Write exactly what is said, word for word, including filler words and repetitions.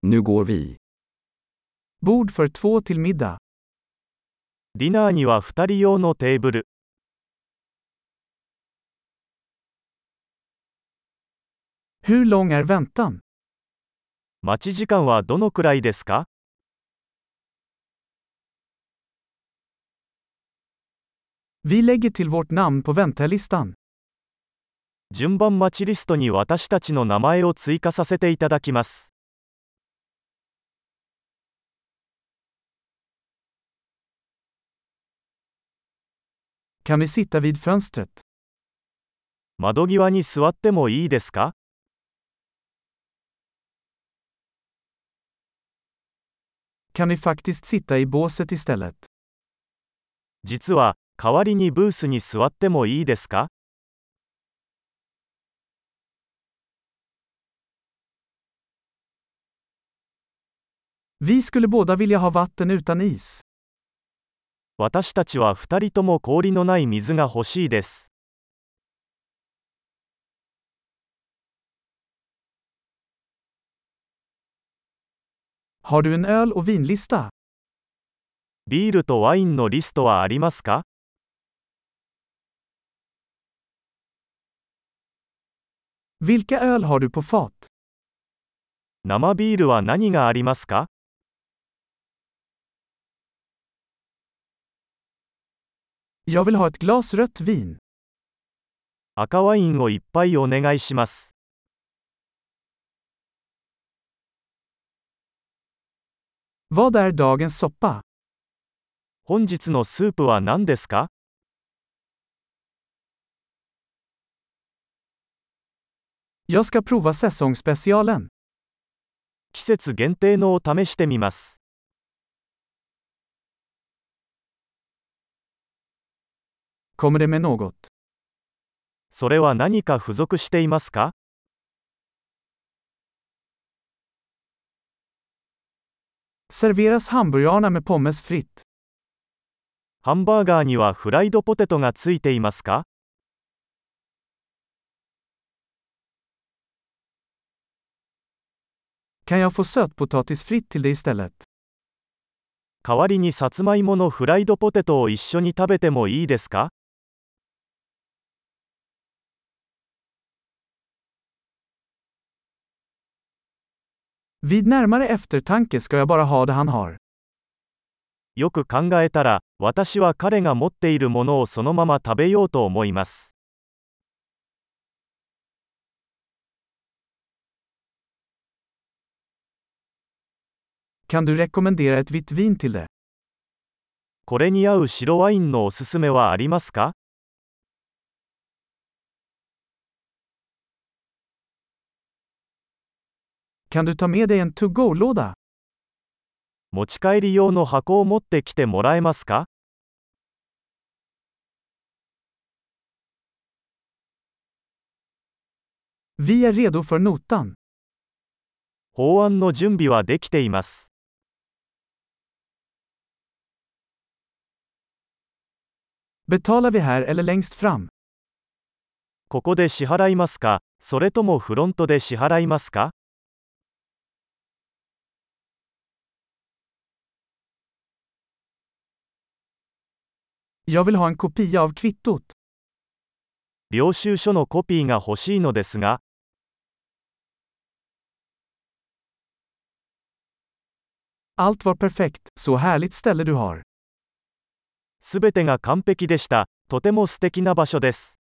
Nu går vi. Bord för två till middag. ディナーにはふたり用のテーブル。 Hur lång är väntan? 待ち時間はどのくらいですか？ Vi lägger till vårt namn på väntelistan. 順番待ちリストに私たちの名前を追加させていただきます。 Kan vi sitta vid fönstret? 窓際に座ってもいいですか？ Kan vi faktiskt sitta i båset istället? 実は、代わりにブースに座ってもいいですか？ Vi skulle båda vilja ha vatten utan is. 私たちはふたりとも氷のない水が欲しいです。 Har du en öl och vinlista? ビールとワインのリストはありますか？ Vilka öl har du på fat? 生ビールは何がありますか？ Jag vill ha ett glas rött vin. 赤ワインをいっぱいお願いします。 Vad är dagens soppa? 本日のスープは何ですか？ Jag ska prova säsongsspecialen. 季節限定のを試してみます。 Kommer det med något? それは何か付属していますか？ Serveras hamburgarna med pommes fritt? ハンバーガーにはフライドポテトがついていますか？ Kan jag få sötpotatis fritt till det istället? 代わりにさつまいものフライドポテトを一緒に食べてもいいですか？ Vid närmare eftertanke ska jag bara ha det han har. よく考えたら、私は彼が持っているものをそのまま食べようと思います。 Kan du rekommendera ett vitt vin till det? これに合う白ワインのおすすめはありますか？ Kan du ta med dig en to-go-låda? 持ち帰り用の箱を持ってきてもらえますか？ Vi är redo för notan. 法案の準備はできています。 Betalar vi här eller längst fram? ここで支払いますか？それともフロントで支払いますか？ Jag vill ha en kopia av kvittot. 領収書のコピーが欲しいのですが、 Allt var perfekt, så härligt ställe du har. すべてが完璧でした。とても素敵な場所です。